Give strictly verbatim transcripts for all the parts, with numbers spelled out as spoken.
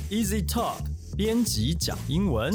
Easy Talk 编辑讲英文。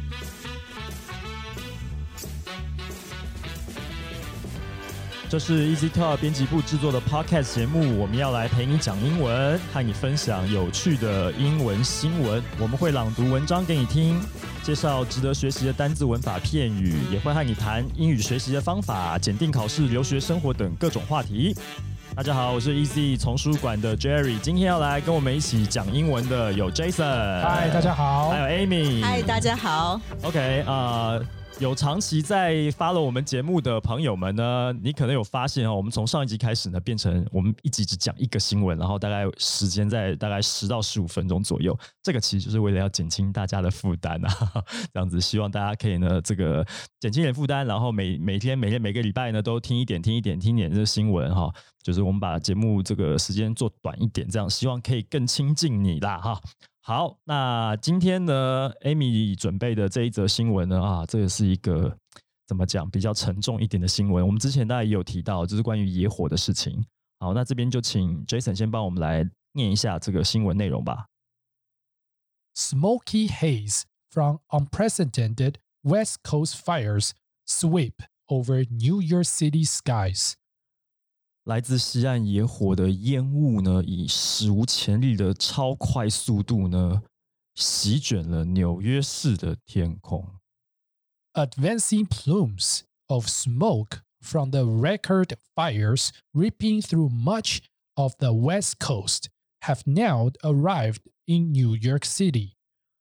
这是 Easy Talk 编辑部制作的 Podcast 节目，我们要来陪你讲英文，和你分享有趣的英文新闻。我们会朗读文章给你听，介绍值得学习的单字、文法、片语，也会和你谈英语学习的方法、检定考试、留学生活等各种话题。大家好，我是 Easy 丛书馆的 Jerry， 今天要来跟我们一起讲英文的有 Jason， 嗨，大家好， 还有 Amy， 嗨，大家好。 OK 啊、呃。有长期在 follow 我们节目的朋友们呢，你可能有发现哦，我们从上一集开始呢，变成我们一集只讲一个新闻，然后大概时间在大概十到十五分钟左右。这个其实就是为了要减轻大家的负担啊，这样子希望大家可以呢，这个减轻一点负担，然后每每天每天每个礼拜呢都听一点听一点听一点这个新闻哈，就是我们把节目这个时间做短一点，这样希望可以更亲近你啦哈。好，那今天呢 Amy 准备的这一则新闻呢，啊，这个是一个怎么讲比较沉重一点的新闻。我们之前大家也有提到，就是关于野火的事情。好，那这边就请 Jason 先帮我们来念一下这个新闻内容吧。 Smoky haze from unprecedented West Coast fires sweep over New York City skies. 来自西岸野火的烟雾呢，以史无前例的超快速度呢，席卷了纽约市的天空。 Advancing plumes of smoke from the record fires ripping through much of the West Coast have now arrived in New York City,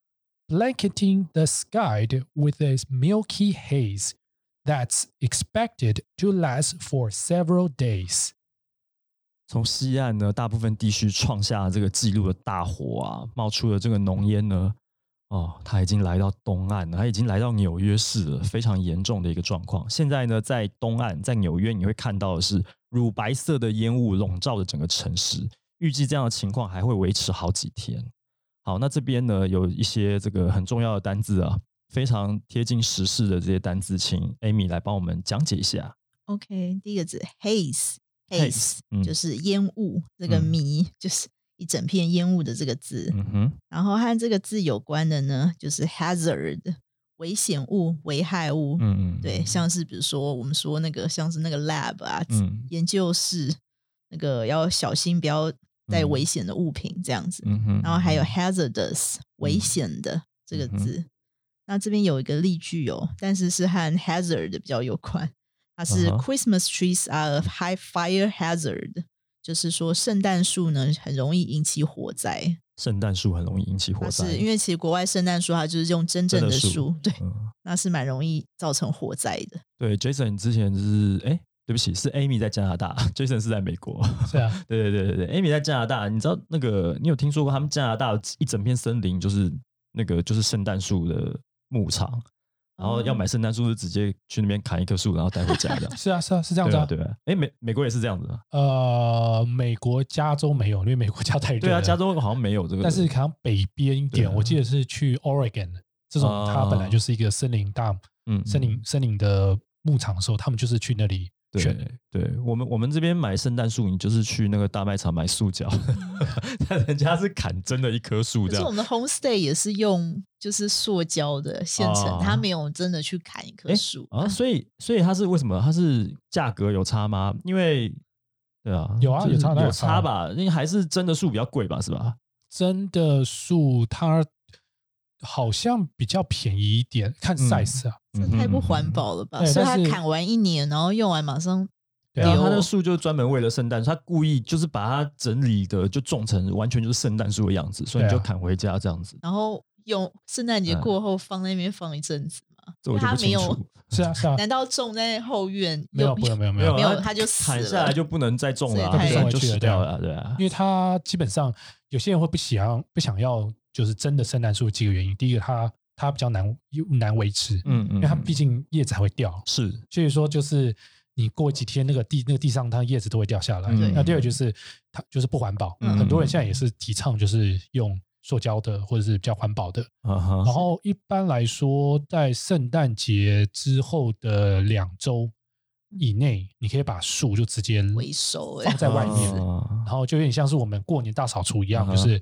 blanketing the sky with a milky haze that's expected to last for several days. 从西岸呢，大部分地区创下这个纪录的大火啊，冒出了这个浓烟呢，哦，它已经来到东岸了，它已经来到纽约市了，非常严重的一个状况。现在呢，在东岸，在纽约，你会看到的是乳白色的烟雾笼罩着整个城市，预计这样的情况还会维持好几天。好，那这边呢有一些这个很重要的单字啊，非常贴近时事的这些单字，请 Amy 来帮我们讲解一下。 OK， 第一个字 haze。Haze、嗯、就是烟雾，这个迷、嗯、就是一整片烟雾的这个字、嗯、哼然后和这个字有关的呢就是 hazard 危险物危害物、嗯嗯对，像是比如说我们说那个像是那个 lab 啊、嗯、研究室那个要小心不要带危险的物品这样子、嗯、然后还有 hazardous、嗯、危险的这个字、嗯、那这边有一个例句哦，但是是和 hazard 比较有关，它是 Christmas trees are a high fire hazard， 就是说圣诞树呢很容易引起火灾。圣诞树很容易引起火灾，是因为其实国外圣诞树它就是用真正的树，对、嗯，那是蛮容易造成火灾的。对 ，Jason 之前是哎，对不起，是 Amy 在加拿大 ，Jason 是在美国。 是啊， 对对对对对 ，Amy 在加拿大，你知道那个你有听说过他们加拿大一整片森林就是那个就是圣诞树的牧场？然后要买圣诞树是直接去那边砍一棵树然后带回家的。 是啊是啊是这样子啊。 对啊对啊。哎，美美国也是这样子吗？ 呃，美国加州没有，因为美国加太热了。 对啊，加州好像没有这个。 但是可能北边一点，我记得是去 Oregon 这种，它本来就是一个森林大，嗯，森林森林的牧场的时候，他们就是去那里。 对对，我们我们这边买圣诞树，你就是去那个大卖场买塑胶，但人家是砍真的一棵树这样。 可是我们的 homestay 也是用就是塑胶的现成，啊、他没有真的去砍一棵树啊，所以所以它是为什么？它是价格有差吗？因为对啊， 有啊， 就是、 有差有差吧？因为还是真的树比较贵吧，是吧？ 真的树它好像比较便宜一点，看 size 啊。 嗯、这太不环保了吧？所以他砍完一年，然后用完马上。 对啊，他的树就专门为了圣诞，他故意就是把它整理的就种成完全就是圣诞树的样子，所以你就砍回家这样子。 然后用圣诞节过后放在那边放一阵子嘛， 这我就不清楚。 是啊是啊， 难道种在后院？ 没有没有没有没有没有，他就死了， 砍下来就不能再种了、啊， 它就死掉了，对啊。 因为它基本上有些人会不想不想要，就是真的圣诞树几个原因。第一个，它它比较难难维持，嗯嗯，因为它毕竟叶子还会掉， 是， 所以说就是。你过几天那个地那个地上它叶子都会掉下来。嗯、那第二个就是它就是不环保、嗯，很多人现在也是提倡就是用塑胶的或者是比较环保的。嗯、然后一般来说，在圣诞节之后的两周以内，你可以把树就直接回收放在外面，然后就有点像是我们过年大扫除一样，就是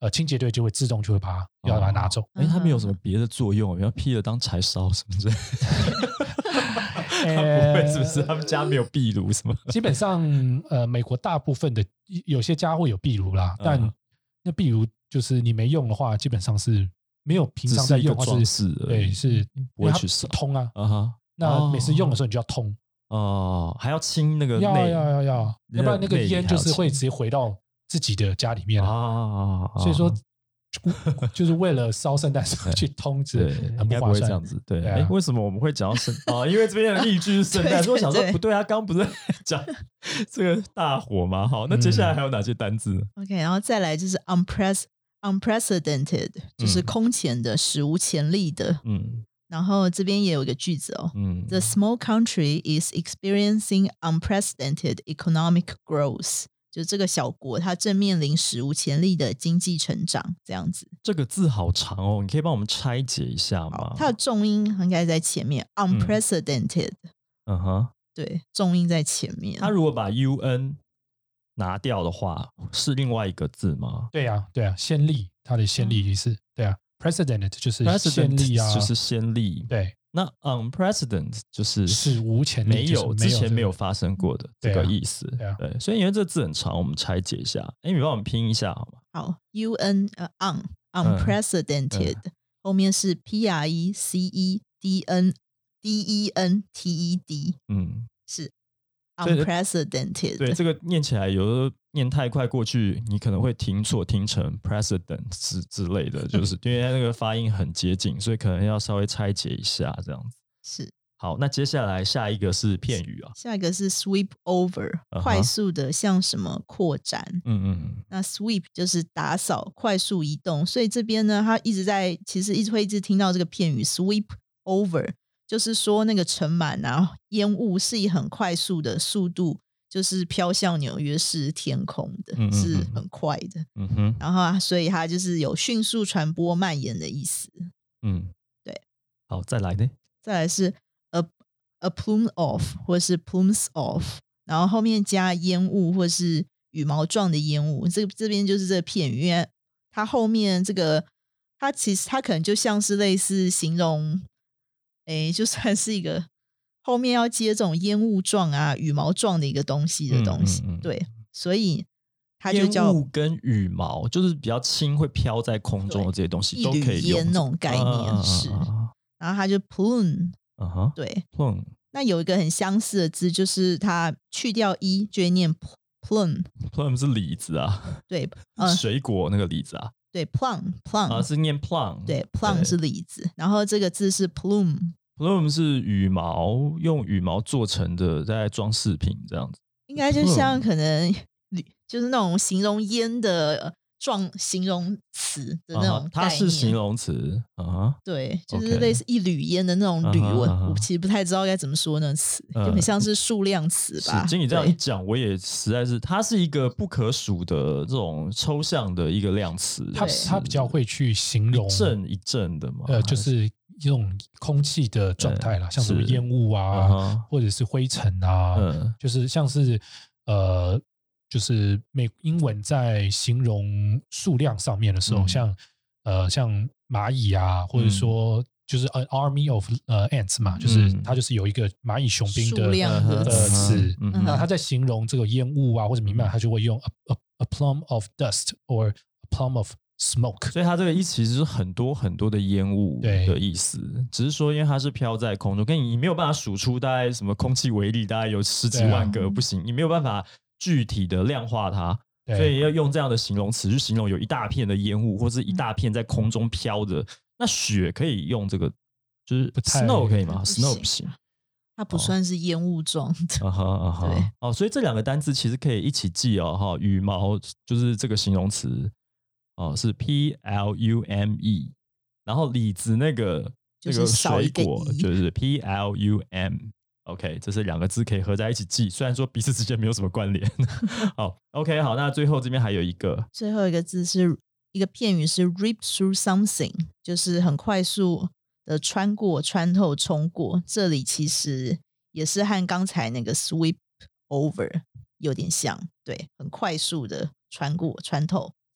呃清洁队就会自动就会把它、哦、要把它拿走。 哎，它没有什么别的作用，要劈了当柴烧什么之类的。他不会是不是？他们家没有壁炉什么？ 基本上，呃，美国大部分的有些家会有壁炉啦，嗯、但那壁炉就是你没用的话，基本上是没有平常在用， 只是一个装饰而已， 对，是不会去烧通啊。 啊哈， 那每次用的时候你就要通哦，还要清那个内， 要要要要，要不然那个烟就是会直接回到自己的家里面啊。所以说。就是为了烧圣诞树去通知，很不划算。 应该不会这样子。对，哎、啊，为什么我们会讲到圣啊？因为这边的例句是圣诞，所以我想说不对啊，刚刚不是讲这个大火吗？好，那接下来还有哪些单字、 嗯、？OK， 然后再来就是 unprecedented， unprecedented 就是空前的、嗯、史无前例的。嗯，然后这边也有一个句子哦。嗯 ，The small country is experiencing unprecedented economic growth。就这个小国，它正面臨史無前例的經濟成長，這樣子。 這個字好長哦，你可以幫我們拆解一下嗎？ 它的重音應該在前面 ，unprecedented。嗯哼，對，重音在前面。 它如果把 un 拿掉的話，是另外一個字嗎？ 對啊，對啊，先例，它的先例意思，對啊 ，precedent 就是先例啊， 就是先例， 對。 那 unprecedented 就是史無前例， 没有之前没有发生过的这个意思。 对啊， 对，所以因为这字很长，我们拆解一下。哎，你帮我们拼一下好吗？ 好 ，u n 呃 un unprecedented、嗯、后面是 p r e c e d n d e n t e d， 嗯，是 unprecedented。 对，这个念起来有时候念太快过去，你可能会听错，听成 precedent 之之类的，就是因为那个发音很接近，所以可能要稍微拆解一下这样子。 是。 好，那接下来下一个是片语啊， 下一个是 sweep over，、uh-huh. 快速的向什么扩展。嗯嗯。那 sweep 就是打扫、快速移动，所以这边呢，他一直在，其实一直会一直听到这个片语 sweep over， 就是说那个尘螨啊、烟雾是以很快速的速度，就是飘向纽约市天空的，嗯嗯嗯，是很快的。嗯哼。然后所以它就是有迅速传播、蔓延的意思。嗯，对。 好，再来呢？ 再来是。A plume of 或是 plumes of， 然后后面加烟雾或是羽毛状的烟雾，这这边就是这个片语，因为它后面这个它其实它可能就像是类似形容，诶，就算是一个后面要接这种烟雾状啊、羽毛状的一个东西的东西，嗯嗯嗯，对，所以它就叫烟雾跟羽毛，就是比较轻会飘在空中的这些东西都可以用， 一缕烟那种概念、啊、是，然后它就 plume。 Uh huh. 对 ，plume。 那有一个很相似的字，就是它去掉一就会念 plum。plum 是李子啊， 对， 呃、水果那个李子啊， 对 plum plum 啊是念 plum， 对 plum 是李子，然后这个字是 plume。plume 是羽毛，用羽毛做成的，在装饰品这样子， 应该就像可能就是那种形容烟的。状形容词的那种概念， uh-huh, 它是形容词啊， uh-huh. 对，就是类似一缕烟的那种缕， uh-huh, uh-huh. 我其实不太知道该怎么说那个词， uh-huh. 就很像是数量词吧。 经你这样一讲，我也实在是，它是一个不可数的这种抽象的一个量词， 它它比较会去形容一阵一阵的嘛， 呃，就是一种空气的状态啦，像什么烟雾啊， uh-huh. 或者是灰尘啊， uh-huh. 就是像是呃。就是美英文在形容数量上面的时候，嗯、像呃像蚂蚁啊，或者说就是 an army of 呃 ants 嘛，嗯、就是它就是有一个蚂蚁雄兵的的词，嗯嗯、那它在形容这个烟雾啊或者弥漫，它就会用 a, a, a plume of dust or a plume of smoke。 所以它这个意思其实是很多很多的烟雾的意思，只是说因为它是飘在空中，跟你你没有办法数出大概什么空气微粒，大概有十几万个，啊、不行，你没有办法。具体的量化它，所以要用这样的形容词去形容有一大片的烟雾，或是一大片在空中飘的。那雪可以用这个，就是 snow 可以吗 ？snow 不行， 它不算是烟雾状的。 啊哈啊哈，对哦，所以这两个单字其实可以一起记哦。哈，羽毛就是这个形容词哦，是 P L U M E， 然后李子那个那个水果就是 P L U M。OK， 这是两个字可以合在一起记，虽然说彼此之间没有什么关联。好 ，OK， 好，那最后这边还有一个， 最后一个字是一个片语是 rip through something， 就是很快速的穿过、穿透、冲过。这里其实也是和刚才那个 sweep over 有点像，对，很快速的穿过、穿透这样。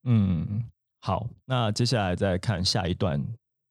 嗯，好，那接下来再看下一段。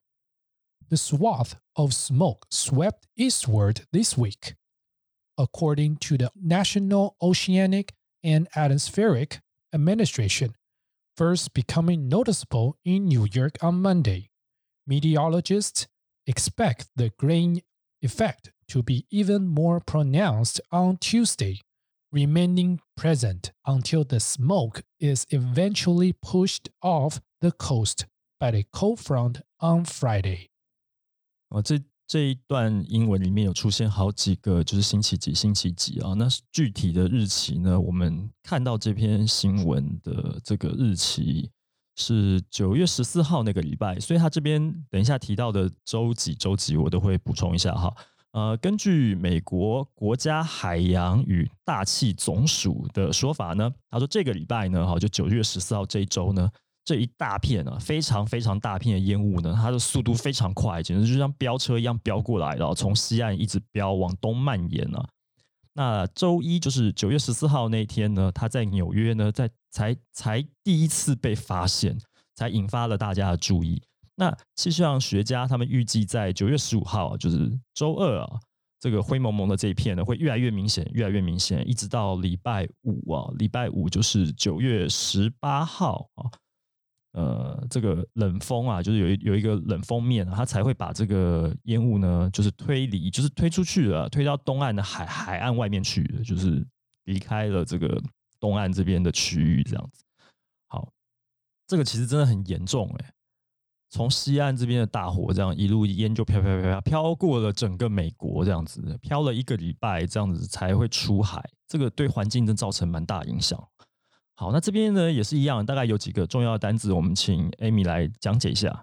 The swath of smoke swept eastward this week, according to the National Oceanic and Atmospheric Administration, first becoming noticeable in New York on Monday. Meteorologists expect the graying effect to be even more pronounced on Tuesday, remaining present until the smoke is eventually pushed off the coast by the cold front on Friday. 哦，这这一段英文里面有出现好几个，就是星期几、星期几啊。那具体的日期呢？我们看到这篇新闻的这个日期是九月十四号那个礼拜，所以他这边等一下提到的周几、周几我都会补充一下哈。呃，根据美国国家海洋与大气总署的说法呢，他说这个礼拜呢，哈，就九月十四号这一周呢。这一大片啊，非常非常大片的烟雾呢，它的速度非常快，简直就像飙车一样飙过来，然后从西岸一直飙往东蔓延啊。那周一就是九月十四号那一天呢，它在纽约呢，在才才第一次被发现，才引发了大家的注意。那气象学家他们预计在九月十五号，就是周二啊，这个灰蒙蒙的这一片呢，会越来越明显，越来越明显，一直到礼拜五啊，礼拜五就是九月十八号啊。呃，这个冷风啊，就是有一有一个冷锋面啊，它才会把这个烟雾呢，就是推离，就是推出去了，推到东岸的海海岸外面去了，就是离开了这个东岸这边的区域，这样子。好，这个其实真的很严重哎、欸，从西岸这边的大火，这样一路烟就飘飘飘飘飘过了整个美国，这样子飘了一个礼拜，这样子才会出海，这个对环境真造成蛮大影响。好，那这边呢也是一样，大概有几个重要的单字，我们请 Amy 来讲解一下。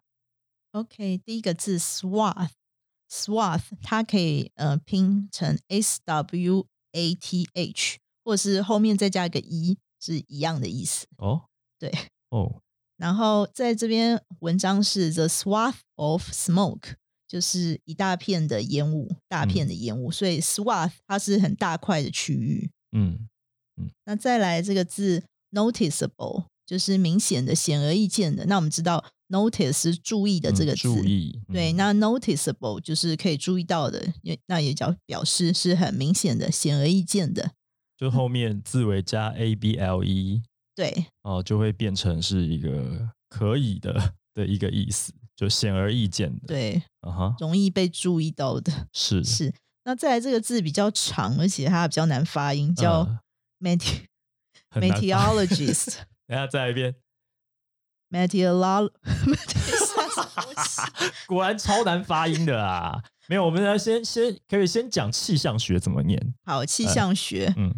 OK， 第一个字 swath，swath 它可以呃拼成 S W A T H， 或者是后面再加一个 E， 是一样的意思。 哦， 对， 哦， 然后在这边文章是 The swath of smoke， 就是一大片的烟雾，大片的烟雾，嗯、所以 swath 它是很大块的区域。 嗯嗯， 那再来这个字。noticeable 就是明显的、显而易见的。那我们知道 notice 是注意的这个字， 嗯、注意、嗯。 对，那 noticeable 就是可以注意到的，那也叫表示是很明显的、显而易见的。 就后面字尾加 A B L E， 对， 哦，就会变成是一个可以的的一个意思，就显而易见的。 对， 啊哈， 容易被注意到的。 是是。那再来这个字比较长，而且它比较难发音，叫 meti、嗯。Meteorologist， 等一下再来一遍。 Meteorologist， 果然超难发音的啊！没有，我们来先先可以先讲气象学怎么念。 好，气象学， 嗯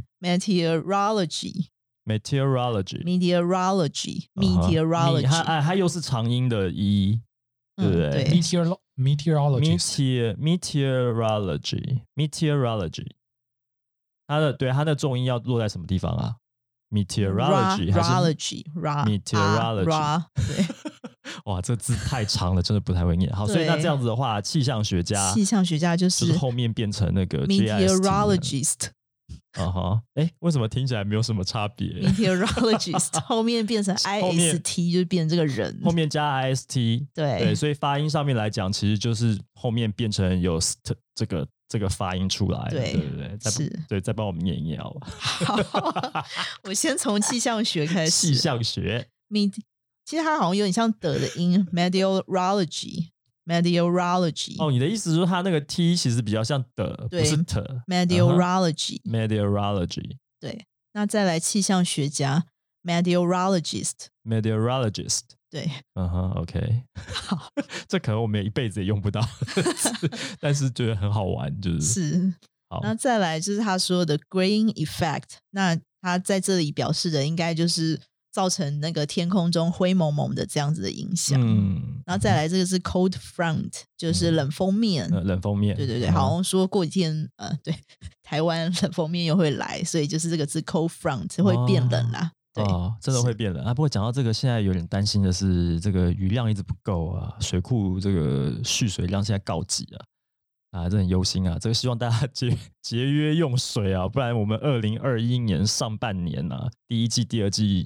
，Meteorology，Meteorology，Meteorology， 它它又是长音的 e， 对不对？ 对 ，Meteor Meteorologist， Meteorology，Meteorology， 它的对它的重音要落在什么地方啊？Meteorology， 还是 Meteorology， 对， 哇，这字太长了，真的不太会念。好，所以那这样子的话，气象学家， 气象学家就是、 就是、后面变成那个 Meteorologist。 啊哈，哎，为什么听起来没有什么差别 ？Meteorologist 后面变成 I S T， 就变成这个人， 后面加 I S T， 对对，所以发音上面来讲，其实就是后面变成有 st 这个。这个发音出来， 对对对对，是，对，再帮我们念一念好吧。 好，我先从气象学开始。 气象学， 其实它好像有点像的的音 ，meteorology，meteorology。 哦，你的意思是说它那个 t 其实比较像的，不是的 ，meteorology，meteorology。 对， 那再来气象学家 ，meteorologist，meteorologist。 对， 嗯哼 ，OK， 好， 这可能我们一辈子也用不到，但是觉得很好玩，就是是。 好， 那再来就是他说的 graying effect， 那他在这里表示的应该就是造成那个天空中灰蒙蒙的这样子的影响。嗯，然后再来这个是 cold front， 就是冷锋面， 嗯、冷锋面， 对对对，好像说过几天，呃，对，台湾冷锋面又会来，所以就是这个字 cold front 会变冷啦。哦哦，真的会变冷啊！不过讲到这个，现在有点担心的是，这个雨量一直不够啊，水库这个蓄水量现在告急啊，啊，这很忧心啊！这个希望大家节节约用水啊，不然我们二零二一年上半年啊，第一季、第二季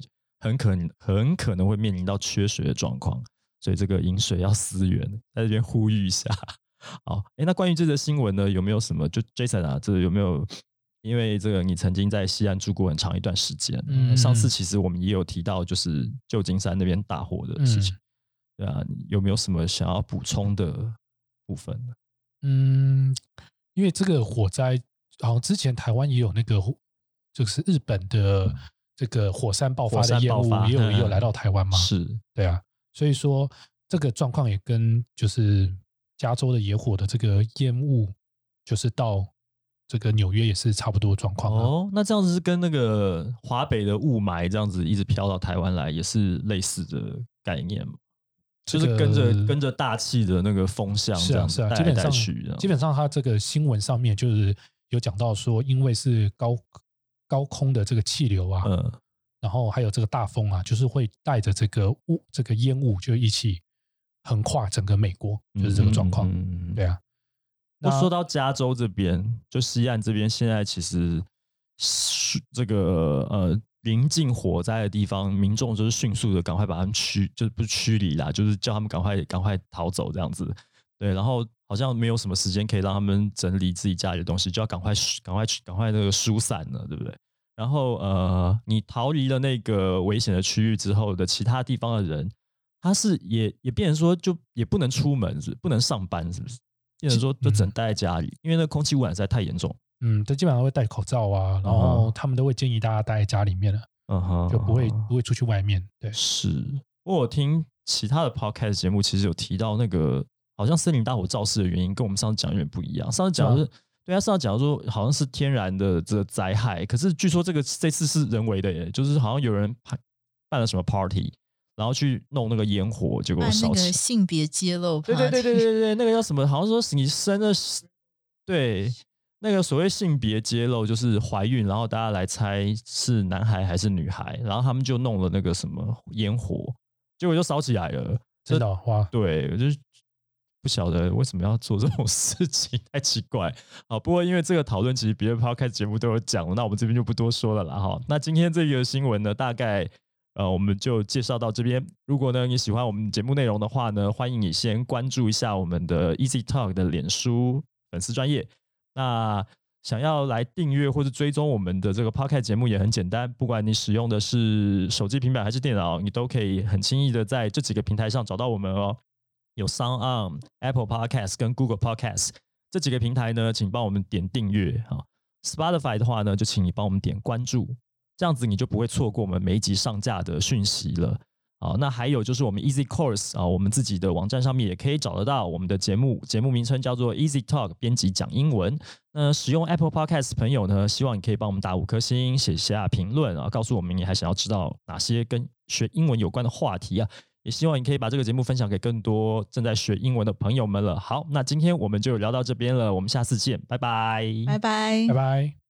很可能很可能会面临到缺水的状况，所以这个饮水要思源，在这边呼吁一下。好，哎，那关于这则新闻呢，有没有什么？就 Jason 啊，这有没有？因为这个你曾经在西岸住过很长一段时间，嗯、上次其实我们也有提到，就是旧金山那边大火的事情，嗯、对啊，有没有什么想要补充的部分？ 嗯，因为这个火灾，好像之前台湾也有那个，就是日本的这个火山爆发的烟雾，也有也有来到台湾嘛， 是， 对啊，所以说这个状况也跟就是加州的野火的这个烟雾，就是到这个纽约也是差不多状况、啊、 哦。那这样子是跟那个华北的雾霾这样子一直飘到台湾来，也是类似的概念吗？就是跟着、这个、跟着大气的那个风向这样子带来带去的。 基本上它这个新闻上面就是有讲到说，因为是高高空的这个气流啊，嗯，然后还有这个大风啊，就是会带着这个雾这个烟雾就一起横跨整个美国，就是这个状况、嗯嗯、对啊。 那说到加州这边，就西岸这边，现在其实这个呃临近火灾的地方，民众就是迅速的赶快把他们驱，就是不是驱离啦，就是叫他们赶快赶快逃走这样子。对，然后好像没有什么时间可以让他们整理自己家里的东西，就要赶快赶快赶快那个疏散了，对不对？然后呃，你逃离了那个危险的区域之后的其他地方的人，他是也也变成说就也不能出门，是不能上班，是不是？变成说就只能待在家里，嗯、因为那空气污染实在太严重。 嗯，这基本上会戴口罩啊，然后他们都会建议大家待在家里面了，嗯哼，就不会不会出去外面。对， 是。我听其他的 podcast 节目，其实有提到那个好像森林大火肇事的原因，跟我们上次讲有点不一样。上次讲的是，啊、对他上次讲说好像是天然的这个灾害，可是据说这个这次是人为的耶，就是好像有人办了什么 party。然后去弄那个烟火，结果烧起来。 那个性别揭露 party， 对对对对对对，那个叫什么？好像说你生了，对，那个所谓性别揭露就是怀孕，然后大家来猜是男孩还是女孩，然后他们就弄了那个什么烟火，结果就烧起来了。 真的哇！ 对，我就不晓得为什么要做这种事情，太奇怪。好，不过因为这个讨论其实别的 podcast 节目都有讲，那我们这边就不多说了啦。哈，那今天这个新闻呢，大概。呃，我们就介绍到这边。如果呢你喜欢我们节目内容的话呢，欢迎你先关注一下我们的 Easy Talk 的脸书粉丝专页。那想要来订阅或者追踪我们的这个 Podcast 节目也很简单，不管你使用的是手机、平板还是电脑，你都可以很轻易的在这几个平台上找到我们哦。有 SoundOn、Apple Podcast 跟 Google Podcast 这几个平台呢，请帮我们点订阅啊。Spotify 的话呢，就请你帮我们点关注。这样子你就不会错过我们每一集上架的讯息了。好，那还有就是我们 Easy Course 啊，我们自己的网站上面也可以找得到我们的节目，节目名称叫做 Easy Talk 编辑讲英文。那使用 Apple Podcast 朋友呢，希望你可以帮我们打五颗星，写下评论啊，告诉我们你还想要知道哪些跟学英文有关的话题啊。也希望你可以把这个节目分享给更多正在学英文的朋友们了。好，那今天我们就聊到这边了，我们下次见，拜拜， 拜拜， 拜拜。